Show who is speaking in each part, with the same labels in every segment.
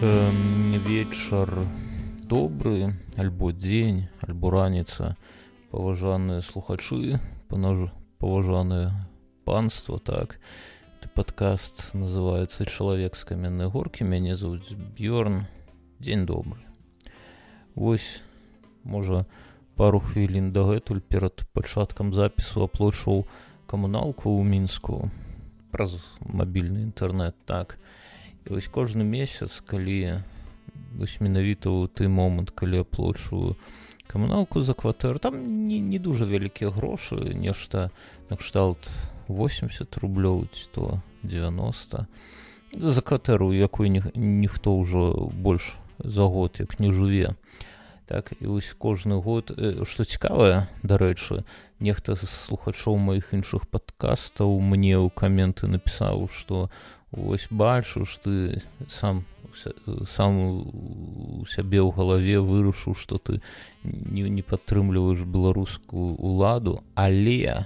Speaker 1: Вечар добры, альбо дзень, альбо раніца, паважаныя слухачы, паважанае панство, так. Падкаст называецца «Чалавек з каменнай горкі», мяне зовут Бьорн, дзень добры. Вось, можа, пару хвілін дагэтуль перад пачаткам запісу аплачваў камуналку ў Мінску праз мабільны інтэрнэт, так. І вось кожны месяц, калі вось менавіта ў той момант, калі аплачваю камуналку за кватэру, там не дуже вялікія грошы, нешта накшталт 80 рублёў, ці то 90. За кватэру, якой ніхто ўжо больш за год як не жыве. Так, і вось кожны год, што цікавае, дарэчы, нехта з слухачоў маіх іншых падкастаў мне ў каменты напісаў, што вось бачу, што ты сам у сябе ў галаве вырашыў, што ты не падтрымліваеш беларускую ўладу, але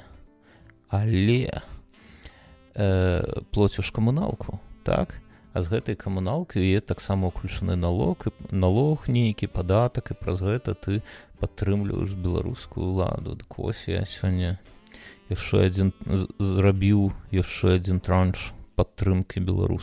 Speaker 1: плоціш камуналку, так? А з гэтай камуналкай є таксама ўключаны налог нейкі, падатак, і праз гэта ты падтрымліваеш беларускую ўладу. Дык вось я сёння зрабіў яшчэ адзін транш падтрымкі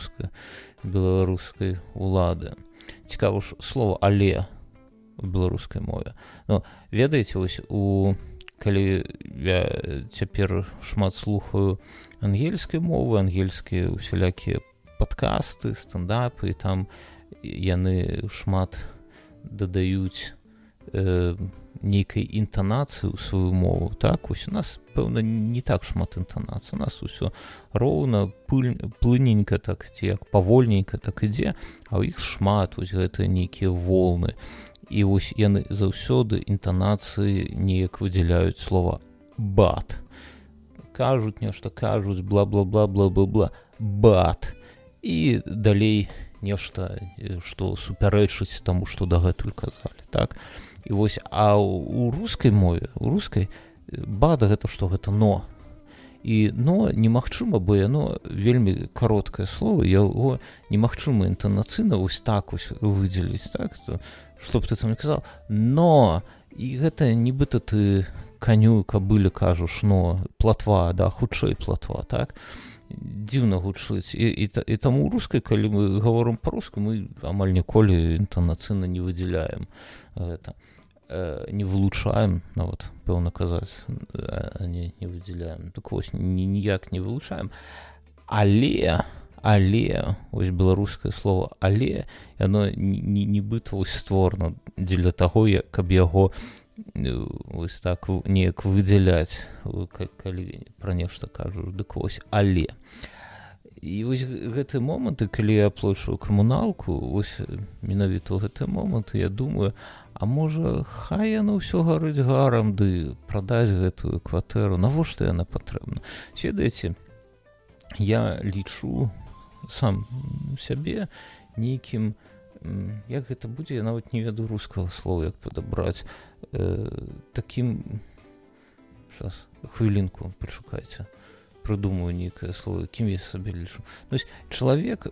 Speaker 1: беларускай улады. Цікава ж слова «але» у беларускай мове. Ну, ведаеце, вось калі я цяпер шмат слухаю ангельскай мовы, ангельскія усялякія падкасты, стендапы, і там яны шмат дадаюць нейкай інтанацыі ў сваю мову, так? Ось у нас, пэўна, не так шмат інтанацый. У нас усё роўна, плыненька, так, ці як павольненька так ідзе, а ў іх шмат вось гэтыя нейкія волны. І вось яны заўсёды інтанацыі неяк выдзяляюць слова «бат». Кажуць нешта, кажуць бла-бла-бла-бла-бла-бла, «бат». І далей нешта, што супярэчыць таму, што дагэтуль казалі, так? І вось, а ў рускай мове, у рускай «бат» гэта што? Гэта «но». І «но» немагчыма, бо яно вельмі кароткае слово, яго немагчыма інтанацыйна вось так вось выдзеліць, так? Што б ты там не казаў? «Но». І гэта нібыта ты каню, кабыле кажаш «но». Платва, да, хутчэй платва, так? Дзіўна гучыць. І таму ў рускай, калі мы гаворым па-руску, мы амаль ніколі інтанацыйна не выдзяляем гэта. Не вылучаем, нават, пэўна казаць, а не выдзяляем. Так вось, ніяк не вылучаем. Але, вось беларускае слово «але», яно нібыта вось створана дзеля таго, каб яго вось так неяк выдзяляць, калі пра нешта кажаш. Дык вось, але. І вось гэтыя моманты, калі я аплачваю камуналку, вось менавіта ў гэтыя моманты я думаю, а можа, хай яно ўсё гарыць гарам, ды прадаць гэтую кватэру, навошта яна патрэбна? Ведаеце, я лічу сам сябе нейкім, як гэта будзе, я нават не ведаю рускага слова, як падабраць, такім, щас, хвілінку, пачакайце, прыдумаю нейкае слово, кім я сабе лічу. То есть чалавек,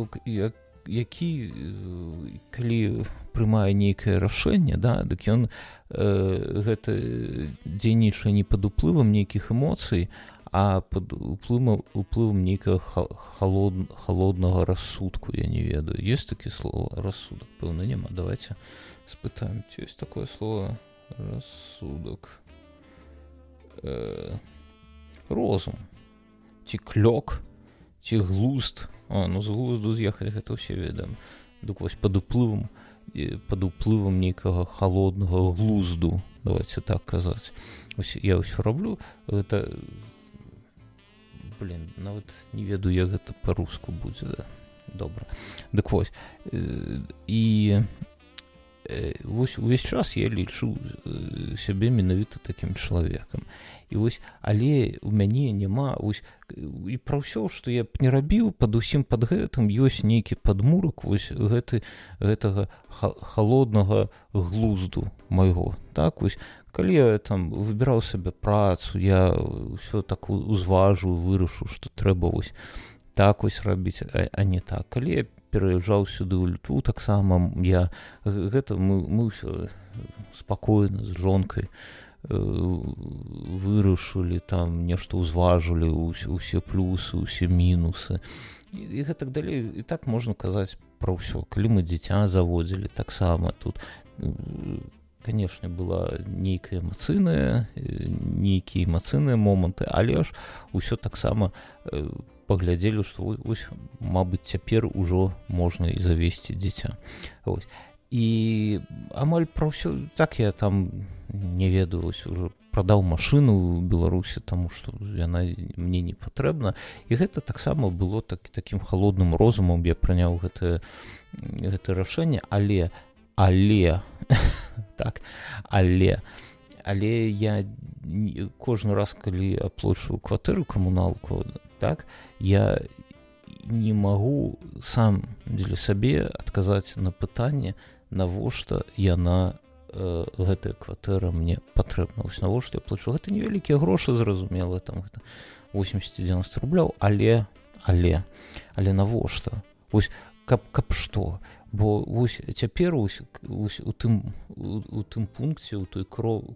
Speaker 1: які, калі прымае нейкае рашэнне, да, дык ён гэта дзейнічае не пад уплывам нейкіх эмоцый, а пад уплывам нейкага халоднага рассудку, я не ведаю. Ёсць такі слово «рассудак»? Пэўна, няма. Давайте спытаем, ці ёсць такое слово «рассудак»? Розум. Ці клёк, ці глузд. Ну з глузду з'ехалі, гэта ўсе ведаем. Дык вось пад уплывам нейкага халоднага глузду, давайте так казаць. Ось я ўсё раблю, гэта, нават не ведаю, як гэта па-руску будзе, да? Добра. Дык вось, і вось увесь час я лічу сябе менавіта такім чалавекам. І вось, але у мяне няма, вось, і пра ўсё, што я б не рабіў, пад усім пад гэтым ёсць нейкі падмурак вось гэтага халоднага глузду майго, так, вось, калі я там выбіраў сабе працу, я ўсё так узважу, вырашу, што трэба вось так вось рабіць, а не так. Калі я пераязджаў сюды ў Літву, таксама мы ўсё спакойна з жонкай вырашылі, там нешта ўзважылі, усе плюсы, усе мінусы і гэтак далей. І так можна казаць пра ўсё. Калі мы дзіця заводзілі, таксама тут, канешне, была нейкія эмацыйныя моманты, але ж усё таксама паглядзелі, што вось, мабыць, цяпер ужо можна і завесці дзіця. І амаль пра ўсё так я там не ведаю, ужо прадаў машыну ў Беларусі, таму што яна мне не патрэбна. І гэта таксама было такім халодным розумам, я прыняў гэта рашэнне, але я кожны раз, калі аплачваю кватэру, камуналку, так, я не магу сам для сабе адказаць на пытанне, навошта гэтая кватэра мне патрэбна. Вось навошта я плачу. Гэта невялікія грошы, зразумела, там гэта 80-90 рубляў, але навошта? Вось каб што? Бо вось цяпер у тым пункце, у той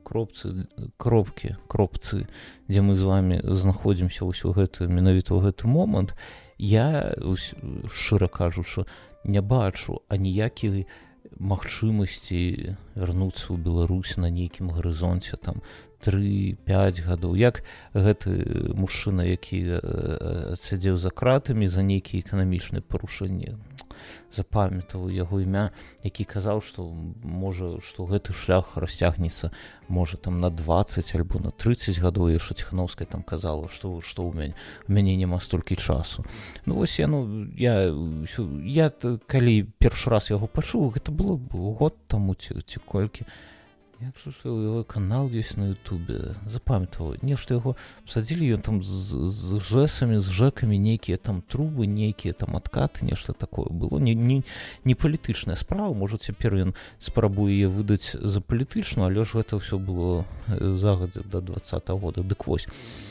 Speaker 1: кропцы, дзе мы з вами знаходзімся вось менавіта ў гэты момант, я, шчыра кажучы, не бачу аніякіх магчымасці вярнуцца ў Беларусь на нейкім гарызонце там 3-5 гадоў. Як гэты мужчына, які сядзеў за кратамі за нейкія эканамічныя парушэнні, запамятаў яго імя, які казаў, што можа, што гэты шлях расцягнецца, можа, там на 20 альбо на 30 гадоў. Яшчэ Ціханаўская там казала, што ў мяне няма столькі часу. Ну вось я калі першы раз яго пачуў, гэта было год таму ці колькі. Я слушаю, яго канал ёсць на Ютубе, запамятаваў, нешта яго садзілі, ён там з жэсамі, з жэкамі, нейкія там трубы, нейкія там адкаты, нешта такое было, не палітычная справа, можа, цяпер ён спрабуе яе выдаць за палітычную, але ж гэта ўсё было загадзя да 20-го года, дык вось.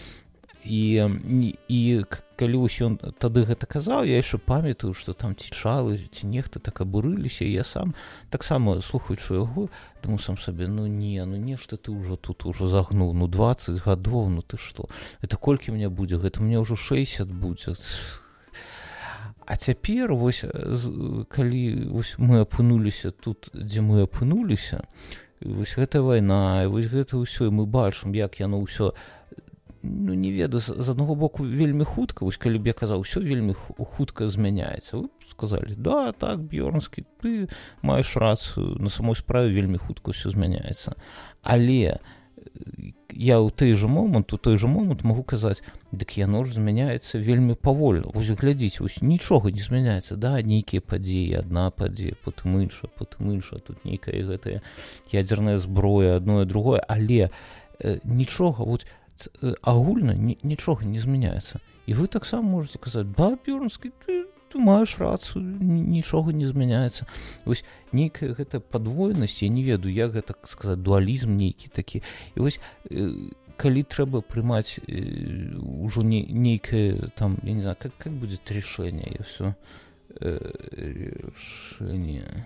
Speaker 1: І калі ўсё ён тады гэта казаў, я яшчэ памятаю, што там ці чалы, ці нехта так абурыліся, і я сам таксама, слухаючы яго, думаю сам сабе, нешта ты ўжо тут загнуў, 20 гадоў, ты што, это колькі мне будзе, гэта мне ўжо 60 будзе. А цяпер, вось, калі мы апынуліся тут, дзе мы апынуліся, вось гэта вайна, вось гэта ўсё, і мы бачым, як яно ўсё, не ведаю, з аднаго боку вельмі хутка, вось калі б я казаў, усё вельмі хутка змяняецца. Вы сказалі, да, так, Бёрнскі, ты маеш рацыю, на самой справе вельмі хутка ўсё змяняецца. Але я ў той жа момант магу казаць, дык яно ж змяняецца вельмі павольна. Вось глядзіце, вось нічога не змяняецца, да, нейкія падзеі, адна падзея, потым іншая, тут нейкая гэтая ядзерная зброя, адно і другое, але нічога, вот агульна нічога не змяняецца. І вы таксама можете казаць, да, Бёрнскі, ты маеш рацыю, нічога не змяняецца. Вось нейкая гэта падвойнасць, я не ведаю, як гэта сказаць, дуалізм нейкі такі. І вось калі трэба прымаць ужо нейкае там, я не знаю, как будет решение, я все решение.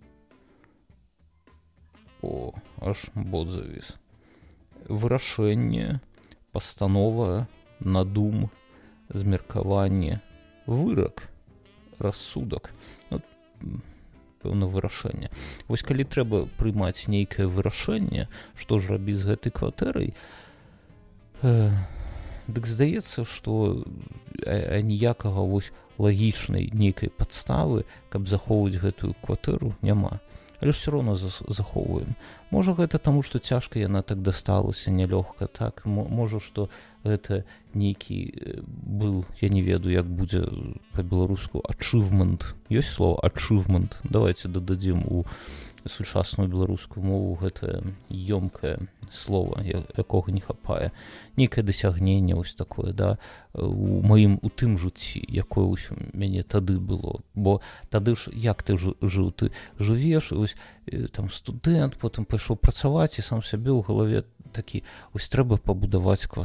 Speaker 1: Аж бот завіс. Вырашэнне, пастанова, надум, змеркаванне, вырак, рассудак. Пэўна, вырашэнне. Вось калі трэба прымаць нейкае вырашэнне, што ж рабіць з гэтай кватэрай, дык здаецца, што ніякага вось лагічнай нейкай падставы, каб захоўваць гэтую кватэру, няма. Але ж все роўно захоўваем. Можа, гэта таму, што цяжка яна так дасталася, нялёгка, так? Можа, што гэта нейкі был, я не ведаю, як будзе па-беларуску, achievement. Ёсць слова achievement? Давайте дададзім у сучасную беларускую мову гэтае ёмкае слова, якога не хапае. Нейкае дасягненне вось такое, да, у тым жыцці, якое ўсё мяне тады было. Бо тады ж, як ты жыў? Ты жывеш, вось там студэнт, потым пайшоў працаваць, і сам сябе ў галаве такі, вось трэба пабудаваць кватэру.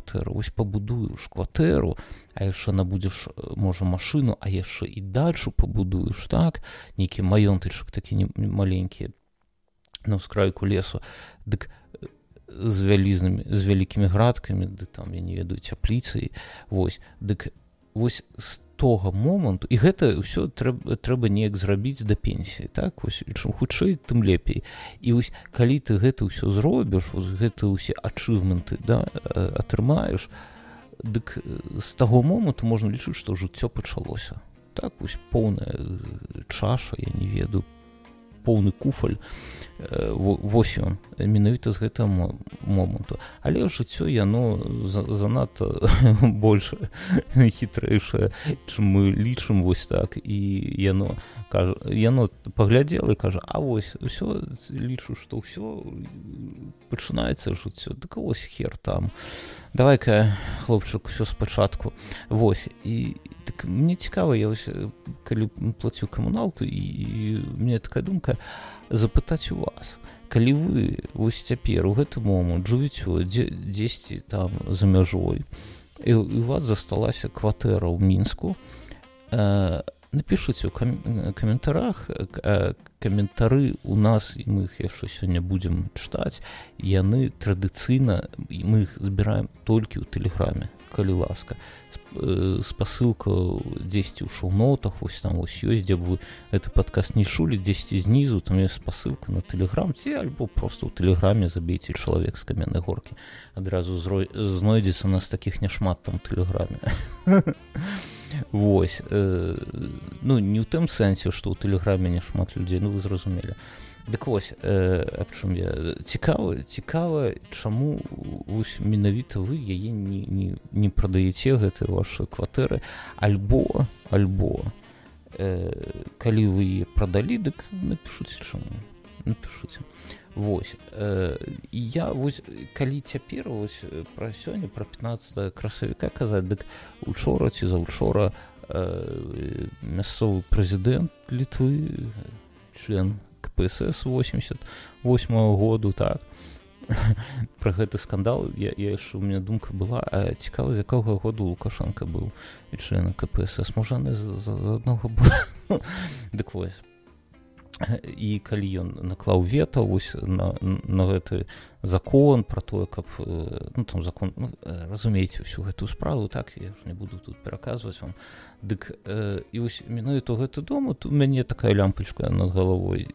Speaker 1: вось пабудуеш кватэру, а яшчэ набудзеш, можа, машыну, а яшчэ і дальшу пабудуеш, так, нейкі маёнтычак такі маленькі, на ўскрайку лесу, дык з вялікімі градкамі, ды там, я не ведаю, цяпліцай, вось, дык вось з того моманту, і гэта ўсё трэба неяк зрабіць да пенсіі, так, вось, чым хутчэй, тым лепей. І вось, калі ты гэта ўсё зробіш, вось, гэта ўсе ачывменты, да, атрымаеш, дык з таго моманту можна лічыць, што жыццё пачалося. Так, вось, поўная чаша, я не ведаю, поўны куфаль, вось ён, менавіта з гэтага моманту. Але жыццё, яно занадта больш хітрэйшае, чым мы лічым, вось так, і яно паглядзела і кажа, а вось, усё, лічу, што ўсё, пачынаецца жыццё, дык вось хер там. Давай-ка, хлопчык, усё спачатку. Вось, і так мне цікава, я вось, калі плаціў камуналку, і мне такая думка запытаць у вас, калі вы вось цяпер у гэты момант жывіце дзесьці там за мяжой, і у вас засталася кватэра ў Мінску, напішыце ў каментарах, каментары у нас, і мы іх яшчэ сёння будзем чытаць, яны традыцыйна, мы іх збіраем толькі ў тэлеграме, калі ласка. Спасылка дзесьці ў шоу-нотах, вось там вось ёсць, дзе б вы гэты падкаст не чулі, дзесьці знізу, там ёсць спасылка на тэлеграм, ці альбо проста ў тэлеграме забейце чалавек з каменнай горкі. Адразу знойдзецца, у нас такіх няшмат там у тэлеграме. Вось, ну, не ў тым сэнсе, што ў тэлеграме няшмат людзей, ну, вы зразумелі. Дык вось, аб чым я цікава, чаму вось менавіта вы яе не прадаеце, гэтыя вашы кватэры, альбо калі вы яе прадалі, дык напішыце чаму, напішыце. Вось, і я вось, калі цяпер вось пра сёння, пра 15 красавіка казаць, дык учора ці заўчора мясцовы прэзідэнт Літвы, член КПСС 88-го году, так, пра гэты скандал, я яшчэ, у мяне думка была, а цікава, з якога году Лукашенко быў і членам КПСС, можа, не з аднаго быў. Дык вось, і калі ён наклаў вета вось на гэты закон пра тое, каб, ну, там закон, ну, разумееце ўсю гэтую справу, так, я ж не буду тут пераказваць вам, дык і вось менавіта гэты дом, у мяне такая лямпачка над галавой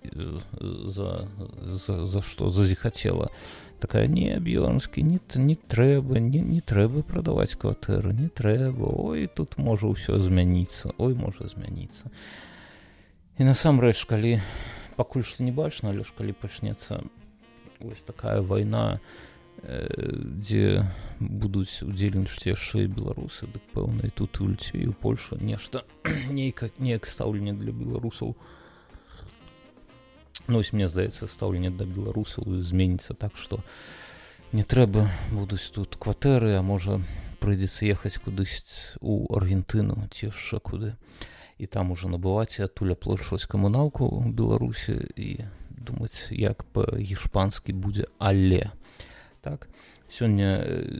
Speaker 1: за што зазіхацела, такая, не, Бьёрнскі, не трэба прадаваць кватэру, не трэба, ой, тут можа ўсё змяніцца, можа змяніцца. І насамрэч, калі пакуль што не бачна, але ж калі пачнецца вось такая вайна, дзе будуць удзельнічаць яшчэ і беларусы, дык пэўна і тут і ў Літве, і ў Польшы нешта, неяк стаўленне для беларусаў. Ну, вось мне здаецца, стаўленне да беларусаў зменіцца так, што не трэба будуць тут кватэры, а можа прыйдзецца ехаць кудысь у Аргентыну ці яшчэ куды. І там уже набываць і адтуль аплачваць камуналку ў Беларусі і думаць, як па-гішпанскі будзе але. Так, сёння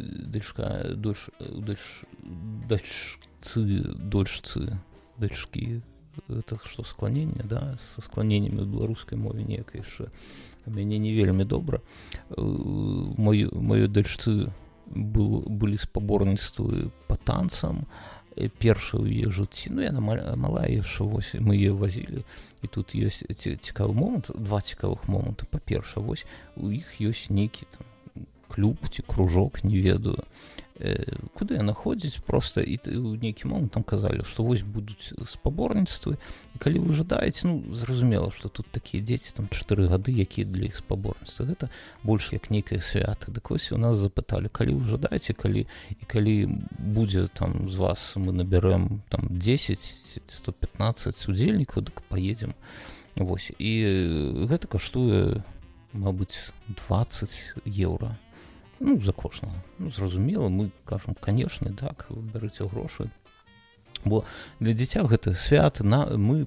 Speaker 1: дачкі, это што, скланенне, да, са скланеннямі ў беларускай мове неяк яшчэ у мяне не вельмі добра. Маёй дачцы былі спаборніцтвы па танцам, першая ў яе жыцці, ну, яна малая яшчэ, вось, мы яе вазілі, і тут ёсць цікавы момант, два цікавых моманта. Па-перша, вось, у іх ёсць нейкі там клуб ці кружок, не ведаю, куды яна ходзіць проста, і ў нейкі момант там казалі, што вось будуць спаборніцтвы, і калі вы жадаеце, ну, зразумела, што тут такія дзеці, там 4 гады, якія для іх спаборніцтвы, гэта больш як нейкае свята. Дык вось у нас запыталі, калі вы жадаеце, калі будзе там з вас, мы набярэм там 10-115 удзельнікаў, дык паедзем. Вось, і гэта каштуе, мабыць, 20 еўра. Ну, за кожнага. Ну, зразумела, мы кажам, канешне, так, бярыце грошы. Бо для дзіця гэта свята, мы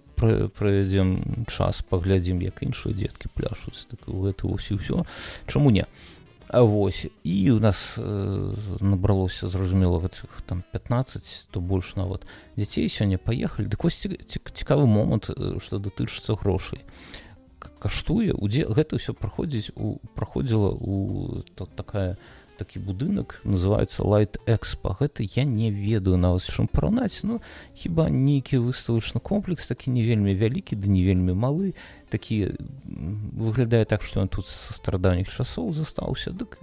Speaker 1: правядзем час, паглядзім, як іншыя дзеткі пляшуць, так, гэта вось і ўсё. Чаму не? А вось і у нас набралося зразумела гэтых там 15, то больш нават дзяцей сёння паехалі. Дык вось цікавы момант, што датычыцца грошай. Каштуе гэта ўсё праходзіла у такі будынак, называецца Light Expo. Гэта я не ведаю нават з чым параўнаць. Ну хіба нейкі выставачны комплекс такі не вельмі вялікі, ды не вельмі малы, такі выглядае так, што ён тут са старадаўніх часоў застаўся, дык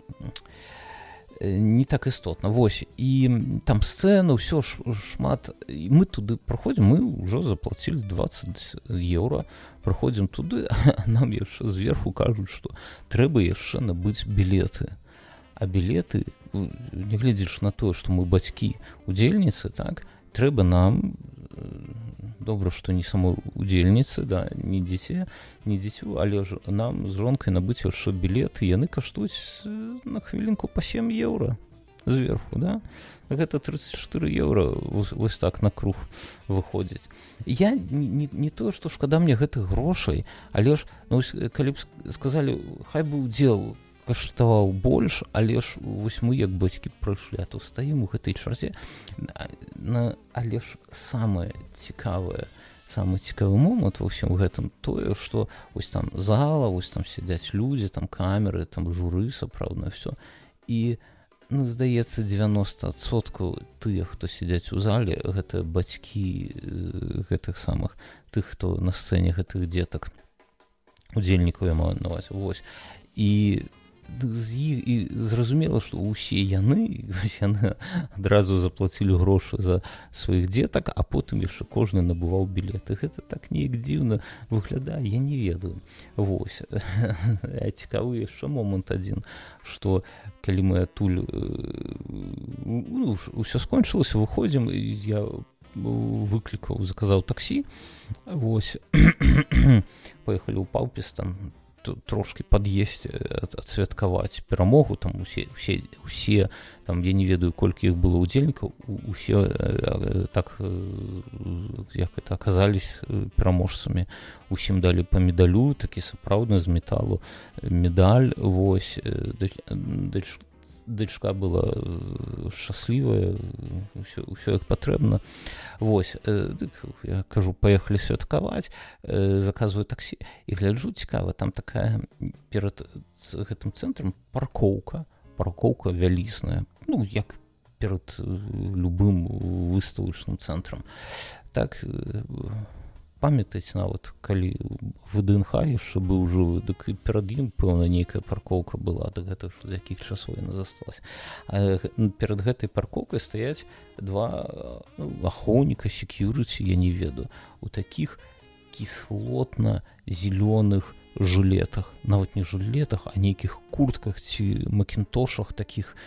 Speaker 1: не так істотна. Вось, і там сцэна, ўсё шмат. І мы туды праходзім, мы ўжо заплацілі 20 еўра, праходзім туды, а нам яшчэ зверху кажуць, што трэба яшчэ набыць білеты. А білеты, нягледзячы на тое, што мы бацькі удзельніцы, так, трэба нам, добра, што не самой удзельніцы, да, не дзіцю, але ж нам з жонкай набыць яшчэ білеты, яны каштуюць на хвілінку па 7 еўра зверху, да? Гэта 34 еўра вось так на круг выходзіць. Я не тое, што шкада мне гэтых грошай, але ж, ну, калі б сказалі, хай бы удзел каштаваў больш, але ж вось мы як бацькі прыйшлі, а то стаім у гэтай чарзе. Але ж самы цікавы момант ва ўсім гэтым тое, што вось там зала, вось там сядзяць людзі, там камеры, там журы сапраўднае ўсё. І, ну, здаецца, 90% тых, хто сядзяць у зале, гэта бацькі гэтых самых, тых, хто на сцэне гэтых дзетак, удзельнікаў я маю на ўвазе. Вось. І зразумела, што ўсе яны адразу заплацілі грошы за сваіх дзетак, а потым яшчэ кожны набываў білеты. Гэта так неяк дзіўна выглядае, я не ведаю. Вось. Цікавы яшчэ момант адзін, што калі мы адтуль ўсё скончылася, выходзім, я заказаў таксі, вось, паехалі ў Паўпіс, там трошки пад'есці, адсвяткаваць перамогу, там усе там, я не ведаю, колькі іх было ўдзельнікаў, усе так, як это, аказались пераможцамі. Усім далі па медалю, такі сапраўдны з металу медаль, вось, дачка была шчаслівая, ўсё як патрэбна. Вось, я кажу, паехалі святкаваць, заказваю таксі і гляджу, цікава, там такая перад гэтым цэнтрам паркоўка вялізная, ну, як перад любым выставачным цэнтрам. Так, памятаеце, нават калі ВДНХ яшчэ быў жывы, дык і перад ім, пэўна, нейкая паркоўка была, да гэтых, з якіх часоў яна засталася. А перад гэтай паркоўкай стаяць два ахоўніка, секьюрыці, я не ведаю, у такіх кіслотна-зелёных жылетах, нават не жылетах, а нейкіх куртках ці макінтошах, такіх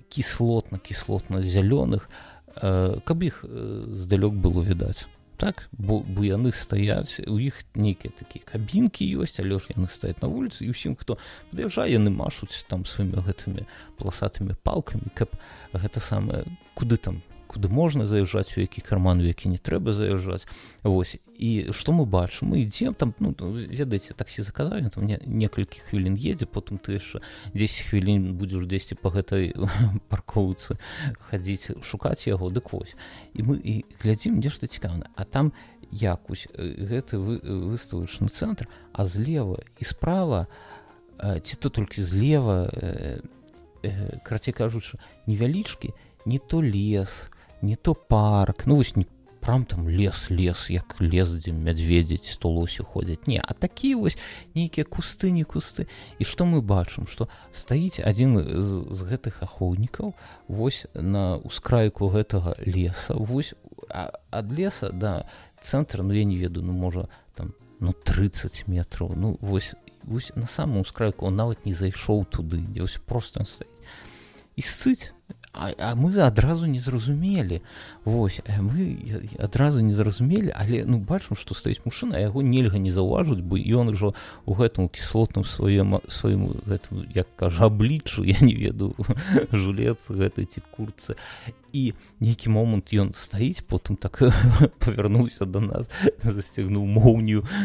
Speaker 1: кіслотна-зялёных, каб іх здалёк было відаць. Так, бо яны стаяць, у іх нейкія такія кабінкі ёсць, але ж яны стаяць на вуліцы, і ўсім, хто пад'язджае, яны машуць там сваімі гэтымі паласатымі палкамі, каб гэта самае, куды можна заязджаць, у які карман, у які не трэба заязджаць. Вось. І што мы бачым? Мы ідзем там, ну, ведаеце, таксі заказалі, там некалькі хвілін едзе, потым ты яшчэ 10 хвілін будзеш дзесьці па гэтай паркоўцы хадзіць, шукаць яго, дык вось. І мы глядзім, нешта цікавае. А там якусь гэты выставачны цэнтр, а злева і справа, ці то толькі злева, карацей кажучы, невялічкі, не то лес, не то парк, ну вось не прям там лес, як лес, дзе мядзведзі ці то лосі ходзяць, не, а такія вось нейкія кусты. І што мы бачым, што стаіць адзін з гэтых ахоўнікаў вось на ускрайку гэтага леса, вось ад леса да цэнтра, ну я не ведаю, ну можа там, ну 30 метраў, ну вось на самом ускрайку он нават не зайшоў туды, дзе вось проста стаіць. І сцыць. А мы адразу не зразумелі. Вось, мы адразу не зразумелі, але ну бачым, што стаіць мужчына, а яго нельга не заўважыць, бо ён ужо у гэтым кіслотным сваім гэтым, як кажа, абліччу, я не ведаю, жулец гэтай ці курцы. І нейкі момант ён стаіць, потым так павярнуўся да нас, засцягнуў моўню,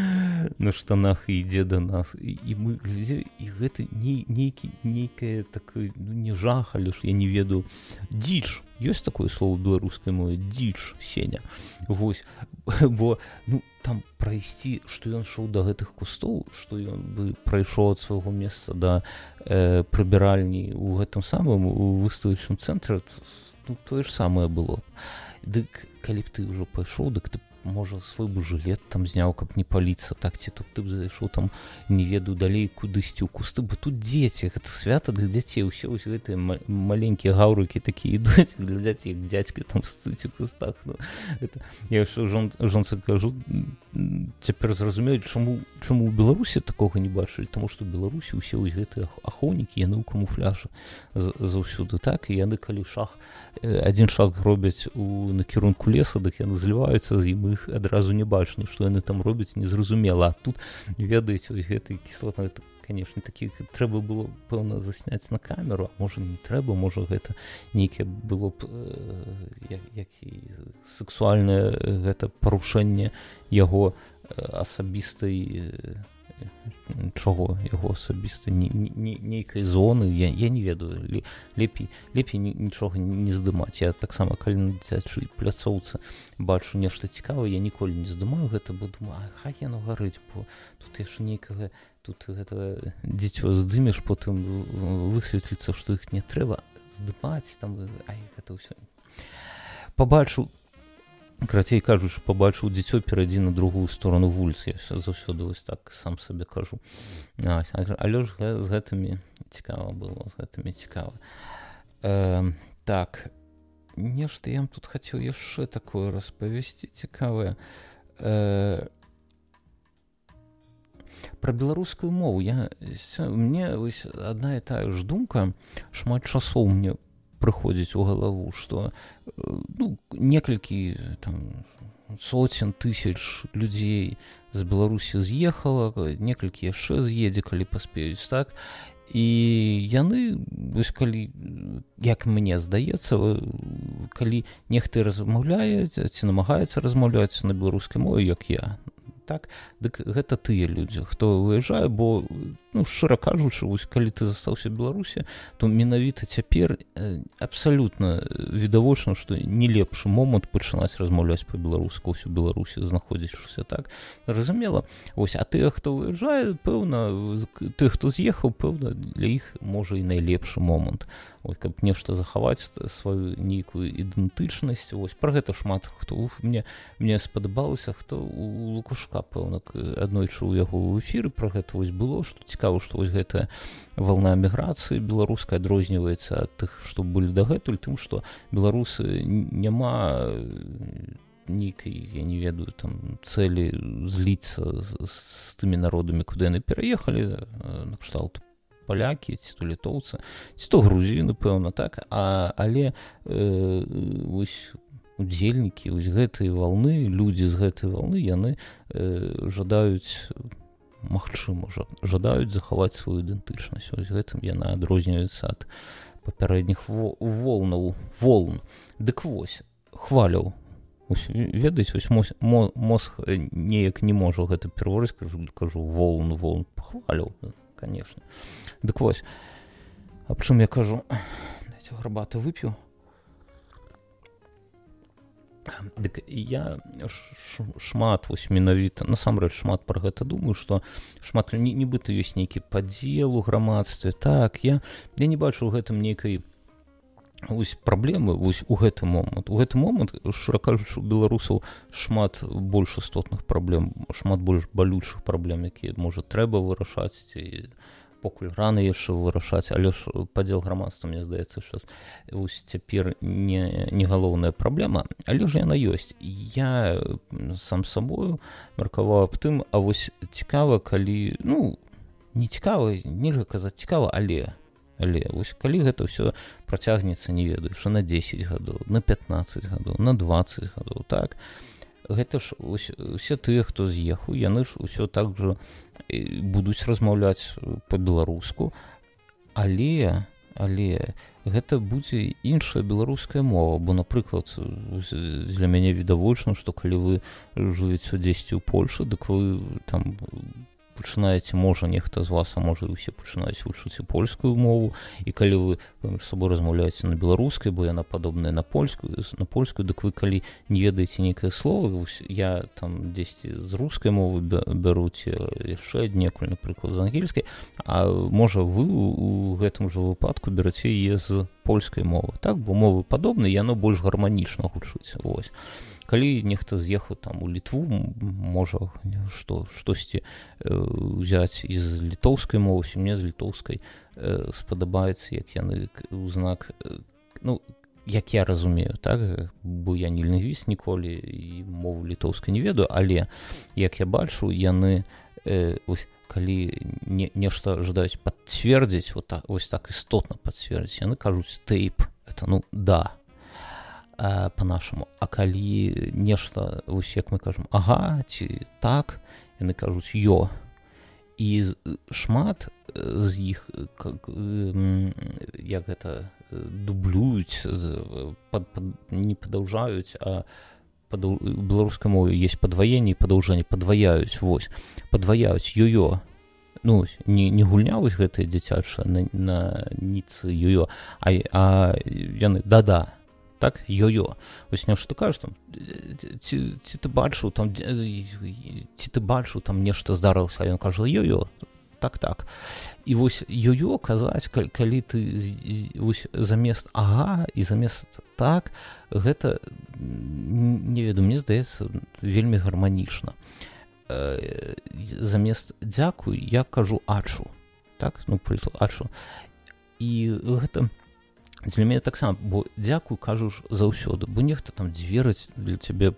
Speaker 1: на штанах і ідзе да нас і мы глядзі, і гэта нейкае такое, ну, не жах, але ж я не ведаю, дзіч, ёсць такое слово беларускай мове, дзіч, Сеня, вось, бо, ну, там прайсці, што ён шоў да гэтых кустоў, што ён бы прайшоў ад свайго месца да прыбіральні ў гэтым самым у выставачным цэнтры, ну, тое ж самае было. Дык калі б ты ўжо пайшоў, дык ты можа свой бы жылет там зняў, каб не паліцца, так ці тут ты б зайшоў там, не ведаю, далей кудысьці ў кусты, бо тут дзеці, гэта свята для дзяцей, усе вось гэтыя маленькія гаўрыкі такія ідуць, глядзяць, як дзядзька там сцыць у кустах. Ну, это, я ўсё жонцы кажу, цяпер зразумеюць, чаму ў Беларусі такога не бачылі, таму што ў Беларусі ўсе вось гэтыя ахоўнікі, яны ў камуфляжы заўсюды, так, і яны калі адзін шаг робяць у накірунку леса, дык яны зліваюцца з ім, іх адразу не бачна, што яны там робяць, незразумела. А тут, ведаеце, вось гэты кіслотна, гэта, конечно, такі трэба было, пэўна, засняць на камеру, а можа не трэба, можа гэта нейкае было б як і сексуальнае гэта парушэнне яго асабістай чаго, яго асабістай нейкай зоны, я не ведаю, лепей нічога не здымаць. Я таксама, калі на дзіцячай пляцоўцы бачу нешта цікавае, я ніколі не здымаю гэта, бо думаю, хай яно гарыць, бо тут яшчэ нейкага, тут гэта дзіцё здымеш, потым высветліцца, што іх не трэба здымаць, там, гэта ўсё. Пабачу, крацей кажучы, пабачыў дзіцё, перайдзі на другую сторону вуліцы, я заўсёды вось так сам сабе кажу. Але ж з гэтымі цікава было, з гэтымі цікава. Так, нешта я тут хацеў яшчэ такое распавесці цікавае. Пра беларускую мову. Мне вось адна і тая ж думка, шмат часоў мне прыходзіць у галаву, што, ну, некалькі там соцень тысяч людзей з Беларусі з'ехала, некалькі яшчэ з'едзе, калі паспеюць, так, і яны, вось калі, як мне здаецца, калі нехта размаўляе ці намагаецца размаўляць на беларускай мове, як я, так, дык гэта тыя людзі, хто выязджае, бо, ну, шчыра кажучы, вось калі ты застаўся ў Беларусі, то менавіта цяпер абсалютна відавочна, што не лепшы момант пачынаць размаўляць па-беларуску ўсю Беларусі, знаходзячыся, так, зразумела. Вось, а тыя, хто выязджае, пэўна, тых, хто з'ехаў, пэўна, для іх можа і найлепшы момант. Ой, каб нешта захаваць сваю нейкую ідэнтычнасць. Вось, пра гэта шмат хто мне спадабалася, хто у Лукашка, пэўна, аднойчы ў яго ў эфіры пра гэта вось было, што цікава, што вось гэтая вална міграцыі беларуская адрозніваецца ад тых, што былі дагэтуль, тым, што беларусы няма нейкай, я не ведаю, там, цэлі зліцца з тымі народамі, куды яны пераехалі, на кшталт палякі, ці то літоўцы, ці то грузіны, пэўна, так, але вось удзельнікі вось гэтай валны, людзі з гэтай валны, яны жадаюць, магчыма, жадаюць захаваць сваю ідэнтычнасць. Вось гэтым яна адрозніваецца ад папярэдніх волн. Дык вось, хваляў. Ведаеце, вось мозг неяк не можа гэта пераварыць, кажу, волн, хваляў, конечно. Дык вось, аб чым я кажу, дайце гарбаты вып'ю. Дык я шмат, вось менавіта, насамрэч шмат пра гэта думаю, што шмат, нібыта ёсць нейкі падзел у грамадстве, так, я не бачу ў гэтым нейкай вось праблемы вось у гэты момант. У гэты момант, шчыра кажучы, у беларусаў шмат больш істотных праблем, шмат больш балючых праблем, якія, можа, трэба вырашаць, ці покуль рана яшчэ вырашаць, але ж падзел грамадства, мне здаецца, што вось цяпер не галоўная праблема, але ж яна ёсць. Я сам сабою меркаваў аб тым, а вось цікава, калі, ну, не цікава, нельга казаць цікава, але вось калі гэта ўсё працягнецца, не ведаю, що на 10 гадоў, на 15 гадоў, на 20 гадоў, так, гэта ж усе тыя, хто з'ехаў, яны ж усё так жа будуць размаўляць па-беларуску, але але гэта будзе іншая беларуская мова, бо, напрыклад, для мяне відавочна, што калі вы жывеце дзесьці ў Польшы, дык вы там пачынаеце, можа, нехта з вас, а можа, і ўсе пачынаюць вучыць і польскую мову, і калі вы паміж сабой размаўляеце на беларускай, бо яна падобная на польскую, дык вы, калі не ведаеце нейкае слова, я там дзесьці з рускай мовы бяруць яшчэ аднекуль, напрыклад, з ангельскай, а можа, вы у гэтым жа выпадку бераце яе з польскай мовы, так? Бо мовы падобныя, яно больш гарманічна гучыць, вось. Калі нехта з'ехаў там у Літву, можа штосьці ўзяць з літоўскай мовы, мне з літоўскай спадабаецца, як яны ў знак, ну, як я разумею, так, бо я не лінгвіст ніколі і мову літоўскай не ведаю, але як я бачу, яны калі нешта жадаюць пацвердзіць, вось так істотна пацвердзіць, яны кажуць тейп, это, ну, да, по-нашаму, а калі нешта, вось як мы кажам, ага, ці так, яны кажуць ё, і шмат з іх, як гэта, дублююць, не падаўжаюць, а у беларускай мове есть падваенне і падаўжэнне, падваяюць, вось, падваяюць ё-ё, ну, не гульня вось гэтая дзіцячая на ніцы ё-ё, а яны да-да, так, ё-ё, вось нешта кажаш там, ці ты бачыў там нешта здарылася, а ён кажа ё-ё, так, і вось ё-ё казаць, калі ты вось замест ага і замест так, гэта, не ведаю, мне здаецца, вельмі гарманічна. Замест дзякуй я кажу ачу, так, ну, ачу, і гэта для мяне таксама, бо дзякуй кажаш заўсёды, бо нехта там дзвераць для цябе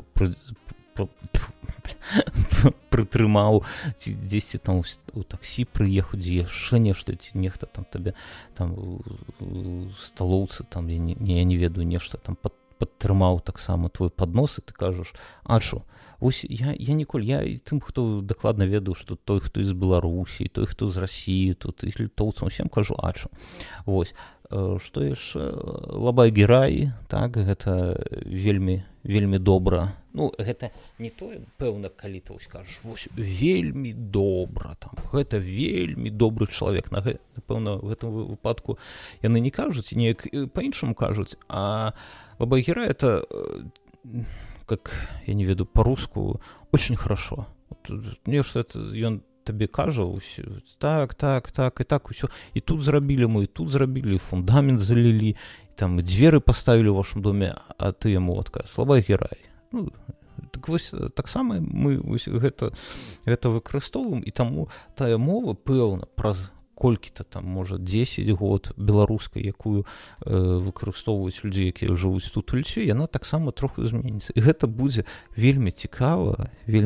Speaker 1: прытрымаў, ці дзесьці там у таксі прыехаў, дзе яшчэ нешта, ці нехта там табе там у сталоўцы, там, я не ведаю, нешта там падтрымаў таксама твой паднос, і ты кажаш ачу. Вось я ніколі, я і тым, хто дакладна ведаў, што той, хто з Беларусі, той, хто з Расіі, тут і літоўцам, усім кажу ачу. Вось. Што яшчэ? Лабай-герай, так, гэта вельмі добра. Ну, гэта не тое, пэўна, калі ты скажаш, вось, вельмі добра, там, гэта вельмі добры чалавек. Напэўна, в гэтым выпадку яны не кажуць, неяк па-іншаму кажуць, а лабай-герай это, как, я не ведаю, по-руску, очень хорошо. Нешта это, ён табе кажа, так, і так, усё. І тут зрабілі мы, і тут зрабілі, фундамент залілі, там, і дзверы паставілі ў вашым доме, а ты яму адказ, лабай-герай. Ну, так вось, таксама мы вось гэта выкарыстоўваем, і таму тая мова, пэўна, праз колькі-то там, можа, 10 год беларускай, якую выкарыстоўваюць людзі, якія жывуць тут у Літве, яна таксама троху зменіцца. І гэта будзе вельмі цікава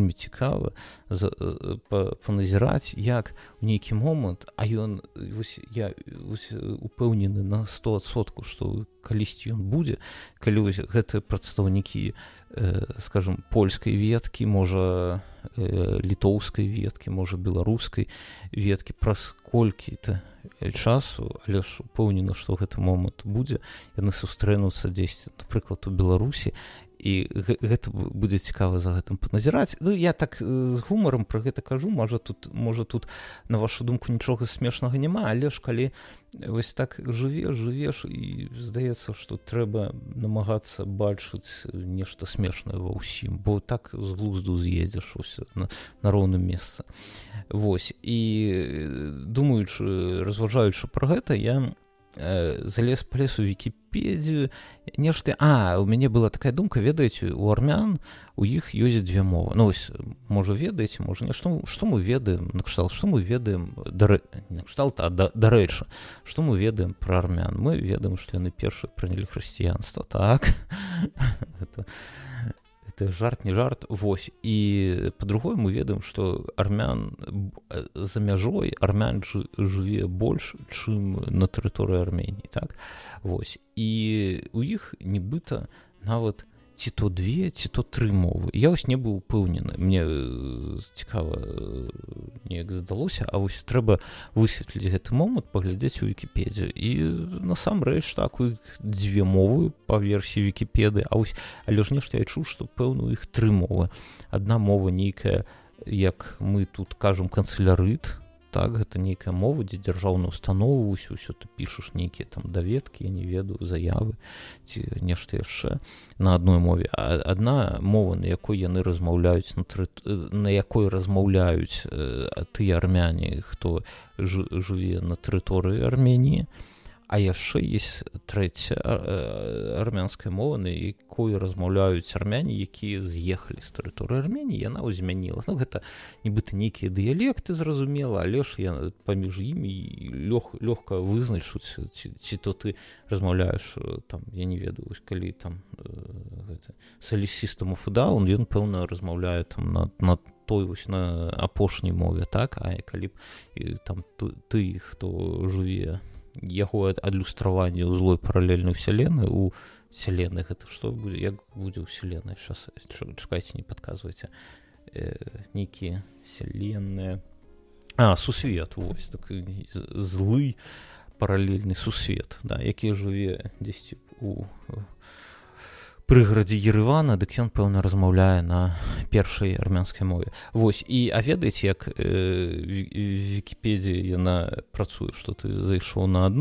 Speaker 1: паназіраць, як у нейкі момант, а ён, я упэўнены на 100%, што калісьці ён будзе, калі гэтыя прадстаўнікі, скажем, польскай веткі, можа, літоўскай веткі, можа, беларускай веткі, праз колькі-то часу, але ж упэўнена, што гэты момант будзе, яны сустрэнуцца дзесьці, напрыклад, у Беларусі, і гэта будзе цікава за гэтым паназіраць. Ну, я так з гумарам пра гэта кажу, можа тут, на вашу думку, нічога смешнага няма, але ж калі вось так жывеш, і здаецца, што трэба намагацца бачыць нешта смешнае ва ўсім, бо так з глузду з'едзеш на роўным месцы. Вось, і думаючы, разважаючы пра гэта, я залез палез у Вікіпедію, нешта, у мяне была такая думка, ведаеце, у армян у іх ёсць две мовы. Ну, вось, можа, ведаеце, можа, не, што мы ведаем, накшталт, што мы ведаем, дарэчы, што мы ведаем пра армян? Мы ведаем, што яны першыя прынялі хрысціянства, так? Это жарт, не жарт, вось, і па-другое мы ведаем, што армян за мяжой, армян жыве больш, чым на тэрыторыі Арменіі, так, вось, і у іх нібыта нават ці то 2, ці то 3 мовы. Я вось не быў упэўнены. Мне цікава неяк здалося, а вось трэба высветліць гэты момант, паглядзець у Вікіпедыю. І насамрэч так, у іх 2 мовы па версіі Вікіпедыі, але ж нешта я чуў, што пэўна у іх 3 мовы. Адна мова нейкая, як мы тут кажам, канцелярыт, так, гэта нейкая мова, дзе дзяржаўную установу, ўсё ты пішаш нейкія там даведкі, я не ведаю, заявы ці нешта яшчэ на адной мове. А адна мова, на якой яны размаўляюць, на якой размаўляюць тыя армяне, хто жыве на тэрыторыі Арменіі. А яшчэ есть 3 армянская мова, на якой размаўляюць армяне, якія з'ехалі з тэрыторыі Арменіі, яна змянілася. Ну, гэта нібыта нейкія дыялекты, зразумела, але ж я паміж імі лёгка вызначыць, ці то ты размаўляеш, там, я не ведаю, калі там Solid System of a Down, ён, пэўна, размаўляе там на той вось на апошняй мове, так, а калі б там ты, хто жыве яго адлюстраванне ў злой паралельнай вселенной, у вселенной, гэта што будзе, як будзе ў вселенной, сейчас чакайце, не падказвайце, нейкія вселенные, сусвет, вось такі злы паралельны сусвет, да, які жыве дзесьці у прыгарадзе Еревана, дык ён, пэўна, размаўляе на першай армянскай мове. Вось, і ведаеце, як Вікіпедія яна працуе, што ты зайшоў на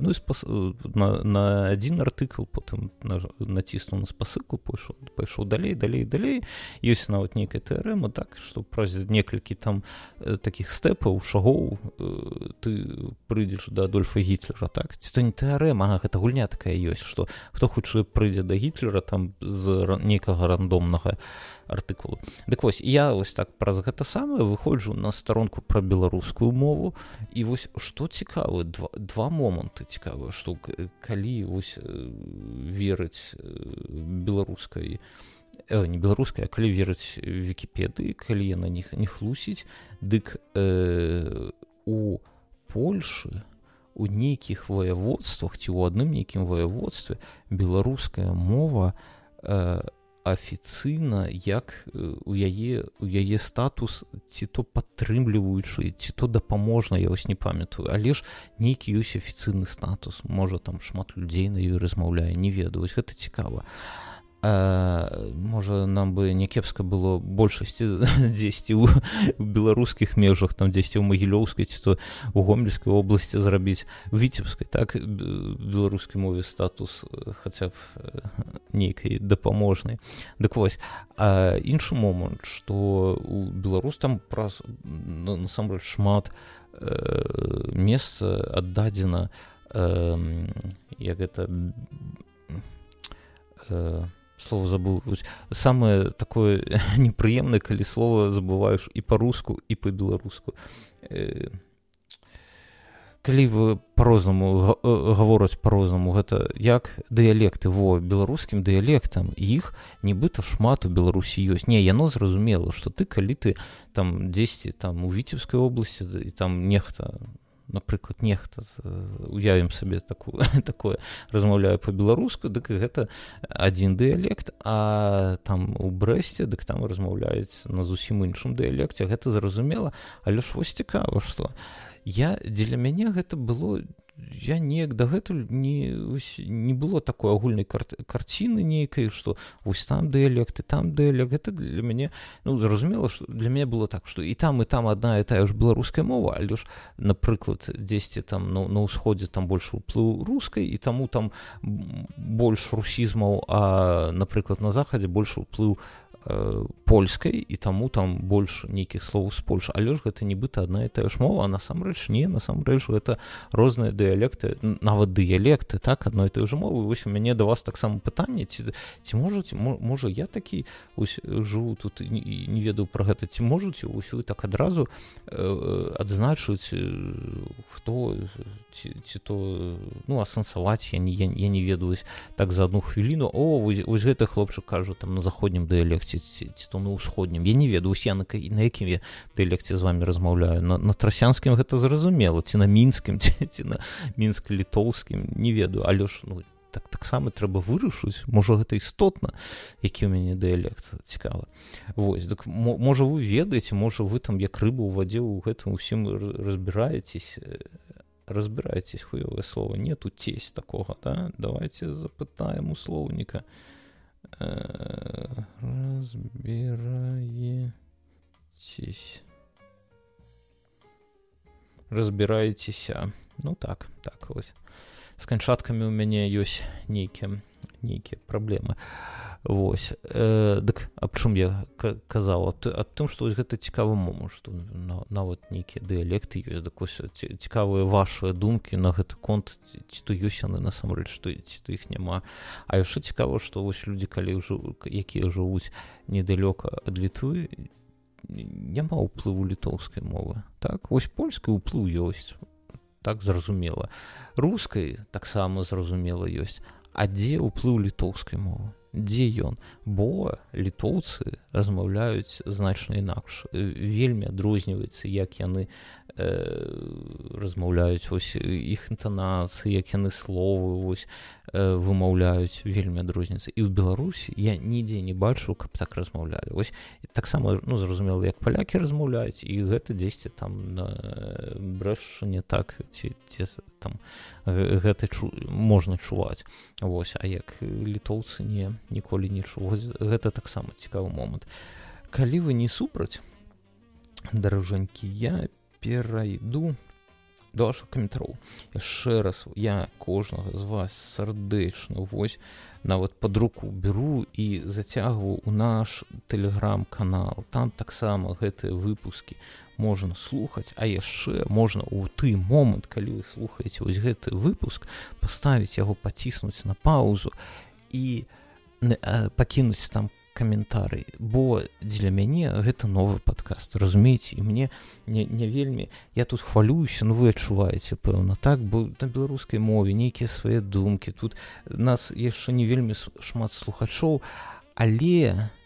Speaker 1: адзін артыкл, потым націснуў на спасылку, пайшоў далей, ёсць нават нейкая тэарэма, так, што праз некалькі там такіх стэпаў, шагоў ты прыйдзеш да Адольфа Гітлера, так, ці то не тэарэма, гэта гульня такая ёсць, што хто хутчэй прыйдзе да Гітлера, там з нейкага рандомнага артыкулу. Дык вось, я вось так праз гэта самае выходжу на старонку пра беларускую мову, і вось што цікава, два моманты цікавыя, што калі вось верыць беларускай, не беларускай, а калі верыць Вікіпедыі, калі яна не хлусіць, дык у Польшы у нейкіх ваяводствах ці ў адным нейкім ваяводстве беларуская мова афіцыйна як у яе статус ці то падтрымліваючы, ці то дапаможна, я вось не памятаю, але ж нейкі ёсць афіцыйны статус, можа там шмат людзей на ёй размаўляе, не ведаю, вось гэта цікава. Можа, нам бы не кепска было большасці дзесьці ў беларускіх межах, там дзесьці ў Магілёўскай ці то ў Гомельскай вобласці зрабіць, у Віцебскай, так, беларускай мове статус хаця б нейкай дапаможнай. Дык вось, іншы момант, што у Беларусь там праз насамрэч шмат месца аддадзена, як гэта слово забыл. Самое такое непрыемнае, калі слово забываеш і па-руску, і па-беларуску. Калі вы по-рознаму гавораць по-рознаму, гэта як дыялекты, беларускім дыялектам, іх нібыта шмат у Беларусі ёсць. Не, яно зразумела, што ты, калі ты там дзесьці там у Віцебскай вобласці, і там нехта, напрыклад, уявім сабе такое, размаўляю па-беларуску, дык гэта адзін дыялект, а там у Брэсце, дык там размаўляюць на зусім іншым дыялекце, гэта зразумела, але ж вось цікава, што дзеля мяне гэта было, я неяк дагэтуль не было такой агульнай карціны нейкай, што вось там дыялект, гэта для мяне, зразумела, што для мяне было так, што і там адна і тая ж беларуская мова, але ж, напрыклад, дзесьці там на ўсходзе там больш уплыў рускай, і таму там больш русізмаў, а, напрыклад, на захадзе больш уплыў польскай, і таму там больш нейкіх словаў з Польшы, але ж гэта нібыта адна і тая ж мова, а насамрэч гэта розныя дыялекты, нават дыялекты, так, адной і той же мовы. Вось у мяне да вас таксама пытанне, ці можа я такі жыву тут і не ведаю пра гэта, ці можаце вы так адразу адзначыць, хто ці то, асэнсаваць, я не ведаю, так за одну хвіліну, вось гэты хлопчык кажа там на заходнім дыялекце, ці то на ўсходнім, я не ведаю, я на якім я дыялекце з вами размаўляю, на трасянскім гэта зразумела, ці на мінскім, ці на мінска-літоўскім, не ведаю, але ж, таксама трэба вырашыць, можа гэта істотна, які ў мяне дыялект, цікава. Вось, так можа вы ведаеце, можа вы там як рыба ў вадзе ў гэтым усім разбираетесь, хуёвае слово, нету тесть такога, да? Давайте запытаем у слоўніка. Разбираецеся. Ну так, вось. З канчаткамі ў мяне ёсць нейкія праблемы. Вось. Дык аб чым я казаў? Аб тым, што вось гэта цікавы момант, што нават нейкія дыялекты ёсць, дык вось цікавыя вашыя думкі на гэты конт, ці то ёсць яны насамрэч, ці то іх няма. А яшчэ цікава, што вось людзі, якія жывуць недалёка ад Літвы, няма ўплыву літоўскай мовы. Так, вось польскай ўплыў ёсць. Так, зразумела. Рускай таксама зразумела ёсць. А дзе ўплыў літоўскай мовы? Дзе ён? Бо літоўцы размаўляюць значна інакш. Вельмі адрозніваецца, як яны размаўляюць, вось іх інтанацыі, як яны словы вось вымаўляюць, вельмі адрозніваецца. І ў Беларусі я нідзе не бачу, каб так размаўлялі. Вось таксама, зразумела, як палякі размаўляюць, і гэта дзесьці там на Брэшчыне, так, ці там гэта можна чуваць. Вось, а як літоўцы ніколі не чуў. Гэта таксама цікавы момант. Калі вы не супраць, даражэнькі, я перайду до вашых каментароў. Яшчэ раз, я кожнага з вас сардэчна вось нават пад руку беру і зацягваю ў наш тэлеграм-канал. Там таксама гэтыя выпускі можна слухаць, а яшчэ можна ў той момант, калі вы слухаеце вось гэты выпуск, паставіць яго, паціснуць на паузу і пакінуць там каментарый, бо дзеля мяне гэта новы падкаст, разумееце, і мне не вельмі, я тут хвалююся, вы адчуваеце, пэўна, так, бо на беларускай мове нейкія свае думкі, тут нас яшчэ не вельмі шмат слухачоў, але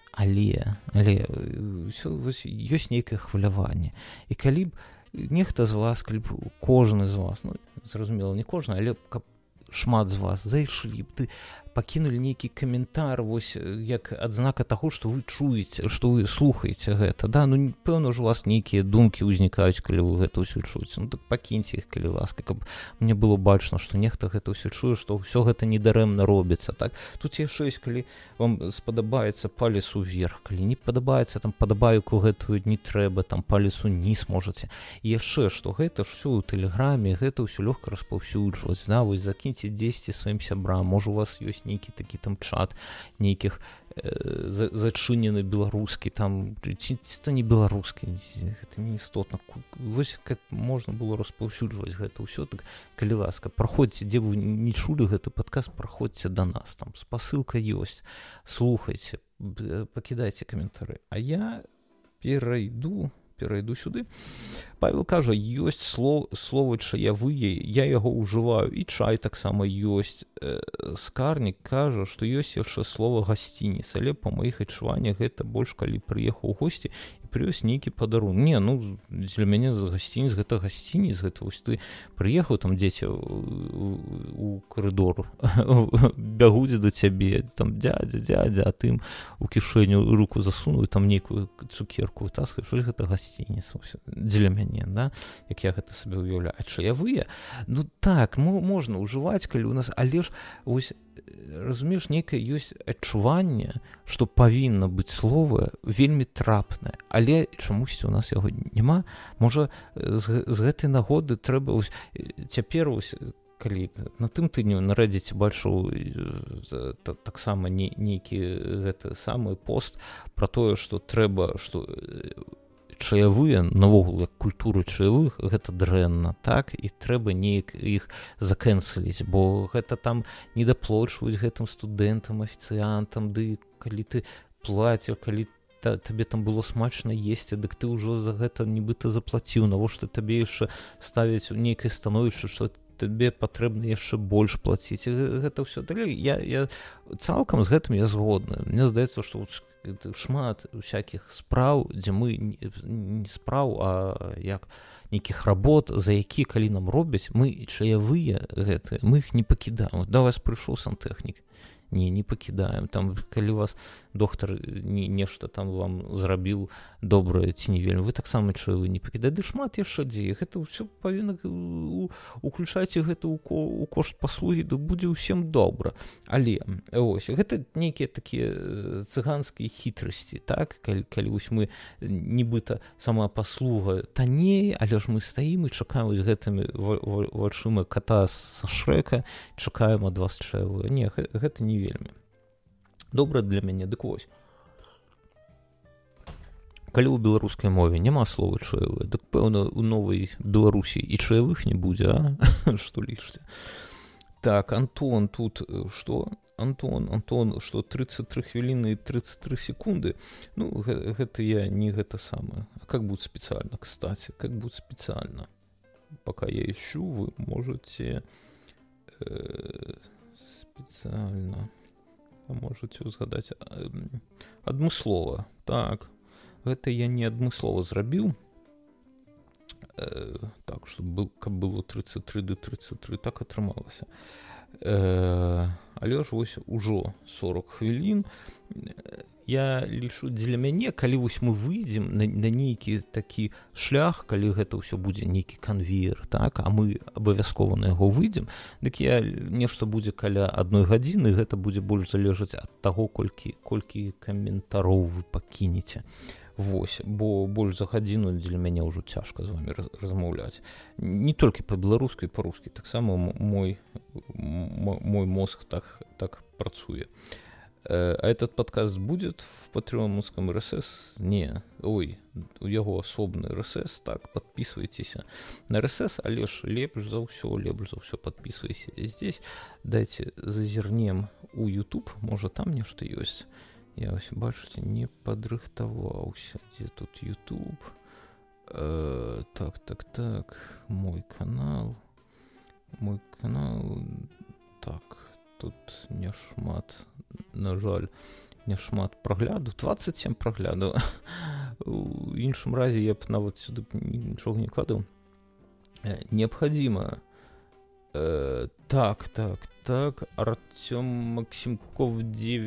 Speaker 1: ёсць нейкае хваляванне, і калі б нехта з вас, калі б кожны з вас, зразумела, не кожны, але каб шмат з вас зайшлі б, пакінулі нейкі каментар, вось як адзнака таго, што вы чуеце, што вы слухаеце гэта, да, пэўна ж у вас нейкія думкі ўзнікаюць, калі вы гэта ўсё чуеце, так пакіньце іх, калі ласка, каб мне было бачна, што нехта гэта ўсё чуе, што ўсё гэта недарэмна робіцца, так, тут яшчэ ёсць, калі вам спадабаецца, палец уверх, калі не падабаецца, там падабайку гэтую не трэба, там палец уніз можаце, і яшчэ, што гэта ж ўсё ў тэлеграме, гэта ўсё лёгка распаўсюджваць, да, вось закіньце дзесьці сваім сябрам, можа у вас ёсць нейкі такі там чат нейкіх зачынены беларускі, там ці то не беларускі, гэта не істотна. Вось как можна было распаўсюджваць гэта ўсё, так калі ласка, праходзьце, дзе вы не чулі гэты падкаст, праходзьце да нас, там спасылка ёсць, слухайце, пакідайце каментары. А я перайду сюды. Павел кажа, ёсць словы чаявыя, я яго ўжываю, і чай таксама ёсць. Скарнік кажа, што ёсць яшчэ слова гасцініц, але па маіх адчуваннях гэта больш калі прыехаў у госці і прывёз нейкі падарунак. Не, для мяне гасцініц, гэта вось ты прыехаў, там дзеці у карыдор бягуць да цябе, там дзядзя, а ты ім у кішэню руку засунуў, там нейкую цукерку вытаскаеш, вось гэта гасцініц дзеля мяне, да, як я гэта сабе ўяўляю. А чаявыя, так, можна ўжываць, калі ў нас, але ж вось разумееш, нейкае ёсць адчуванне, што павінна быць слова вельмі трапнае, але чамусьці у нас яго няма. Можа, з гэтай нагоды трэба цяпер калі на тым тыдню на Reddit бачыў таксама нейкі гэты самы пост пра тое, што трэба, што чаявыя, навогул, як культуры чаявых, гэта дрэнна, так, і трэба неяк іх закэнселіць, бо гэта там недаплочваюць гэтым студэнтам, афіцыянтам, ды калі ты плаціў, калі табе там было смачна есці, дык ты ўжо за гэта нібыта заплаціў, навошта табе яшчэ ставяць у нейкае становішча, што табе патрэбна яшчэ больш плаціць. Гэта ўсё далей. Я цалкам з гэтым я згодны. Мне здаецца, што шмат усякіх спраў, дзе мы не спраў, а як нейкіх работ, за які калі нам робяць, мы чаявыя гэтыя, мы іх не пакідаем. Да вас прыйшоў сантэхнік, не пакідаем. Там калі вас доктар нешта там вам зрабіў добрае ці не вельмі, вы таксама чаявыя не пакідаеце. Ды шмат яшчэ дзе. Гэта ўсё павінна уключайце гэта ў кошт паслугі, да будзе ўсім добра. Але ось гэта нейкія такія цыганскія хітрасці, так, калі вось мы нібыта сама паслуга танней, але ж мы стаім і чакаем гэтымі вачыма кота са Шрэка, чакаем ад вас чаявыя. Не, гэта не вельмі добра для мяне. Дык вось, калі ў беларускай мове няма слова чаявыя, дык пэўна у новай Беларусі і чаявых не будзе, а? Што лічыце? Так, Антон тут што? Антон, што 33 хвіліны і 33 секунды? Ну, гэта я не гэта самае. А как будет специально, кстати? Как будет специально? Пока я ищу, вы можете специально, можете узгадаць адмыслова. Так, гэта я не адмыслова зрабіў. Так, каб было 33 да 33, так атрымалася. Але ж вось ужо 40 хвілін. Я лічу, для мяне, калі вось мы выйдзем на нейкі такі шлях, калі гэта ўсё будзе нейкі канвеер, так, а мы абавязкова на яго выйдзем, дык я нешта будзе каля 1 гадзіны, гэта будзе больш залежаць ад таго, колькі каментароў вы пакінеце. Вось, бо больш за гадзіну для мяне ўжо цяжка з вами размаўляць. Не толькі па-беларуску і па-руску, таксама мой мозг так працуе. А этот подкаст будет в патреоновском РСС? Не, ой, у яго асобны РСС, так, подписывайтесь на РСС, але ж лепш за ўсё подписывайся здесь. Дайте зазірнем у YouTube, можа там нешта ёсць. Я ось, бачыце, не падрыхтаваўся. Дзе тут YouTube? Так, мой канал, так, тут не шмат, на жаль, не шмат праглядаў, 27 праглядаў. У іншым разе я б нават сюды нічога не кладаў. Необходимо. Так, Артем Максимков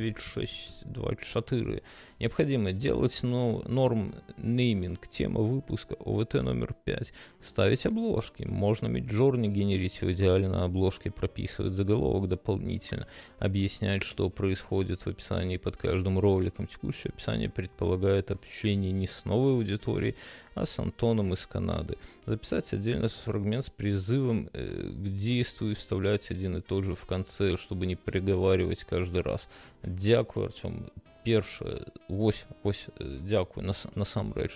Speaker 1: 9624. Необходимо делать норм нейминг, тема выпуска, ОВТ номер 5. Ставить обложки. Можно Midjourney генерить в идеале на обложке, прописывать заголовок дополнительно, объяснять, что происходит в описании под каждым роликом. Текущее описание предполагает общение не с новой аудиторией, а с Антоном из Канады. Записать отдельно фрагмент с призывом к действию, вставлять один и тот же в конце, чтобы не приговаривать каждый раз. Дякую, Артем. Першае, вось, дякую, насамрэч,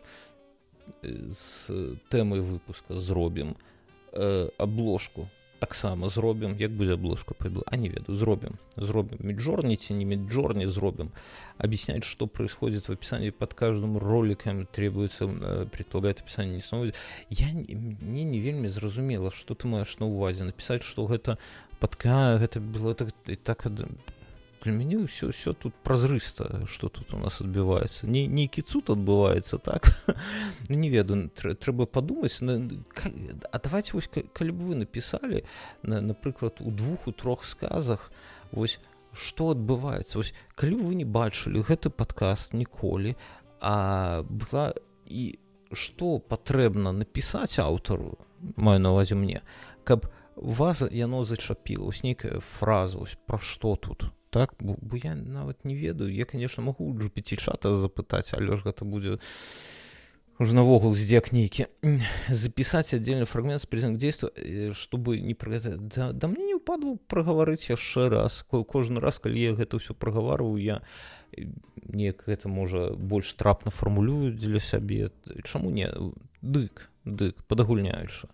Speaker 1: з тэмай выпуска зробім абложку, таксама зробім, як будзе абложка, а не ведаю, зробім Midjourney ці не Midjourney, зробім, объяснять, что происходит в описании под каждым роликом, требуется, предполагает описание не снова. Мне не вельмі зразумела, что ты маеш на увазе, написать, что гэта подкаст, гэта было так. Для мяне ўсё тут празрыста, што тут у нас адбываецца. Нейкі цуд адбываецца, так? Не ведаю, трэба падумаць. А давайте вось, калі б вы напісалі, напрыклад, у 2-3 сказах, вось, што адбываецца. Вось, калі вы не бачылі гэты падкаст ніколі, а была і што патрэбна напісаць аўтару, маю на ўвазе мне, каб вас яно зачапіла, вось нейкая фраза, вось, пра што тут? Так, бо я нават не ведаю. Я, конечно, могу у GPT-чата запытаць, але ж гэта будзе уже навогул здзек нейкі. Записать отдельный фрагмент с призывом к действию, чтобы не да мне не ўпадло прагаварыць яшчэ раз. Кожны раз, калі я гэта ўсё прагаварваю, я неяк гэта, можа, больш трапна фармулюю дзеля сябе. Чаму не? Дык, падагульняючы.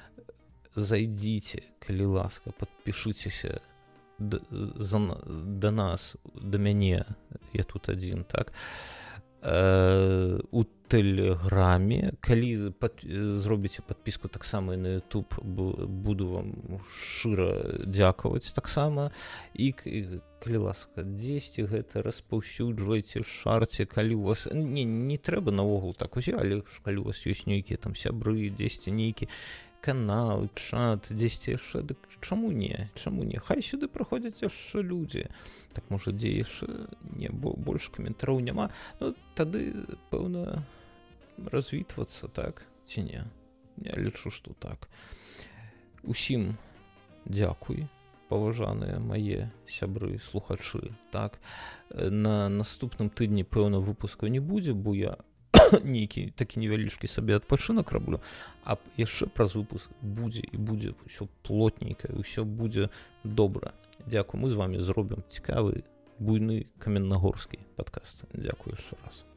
Speaker 1: Зайдзіце, калі ласка, падпішыцеся да нас, да мяне, я тут адзін, так, у тэлеграме. Калі зробіце падпіску таксама і на YouTube, буду вам шчыра дзякаваць таксама. І калі ласка, дзесьці гэта распаўсюджвайце, шарце, калі у вас не трэба наогул так узялі, калі у вас ёсць нейкія там сябры, дзесьці нейкі канал, чат, дзесьці яшчэ, дык чаму не, хай сюды прыходзяць яшчэ людзі, так можа дзе яшчэ не, бо больш каментараў няма, ну тады пэўна развітвацца, так ці не? Я лічу, што так. Усім дзякуй, паважаныя мае сябры, слухачы, так. На наступным тыдні пэўна выпускаў не будзе, бо я нейкі такі невялічкі сабе адпачынак раблю, а яшчэ праз выпуск будзе ўсё плотненька, ўсё будзе добра. Дзякуй, мы з вамі зробім цікавы, буйны каменнагорскі падкаст. Дзякуй яшчэ раз.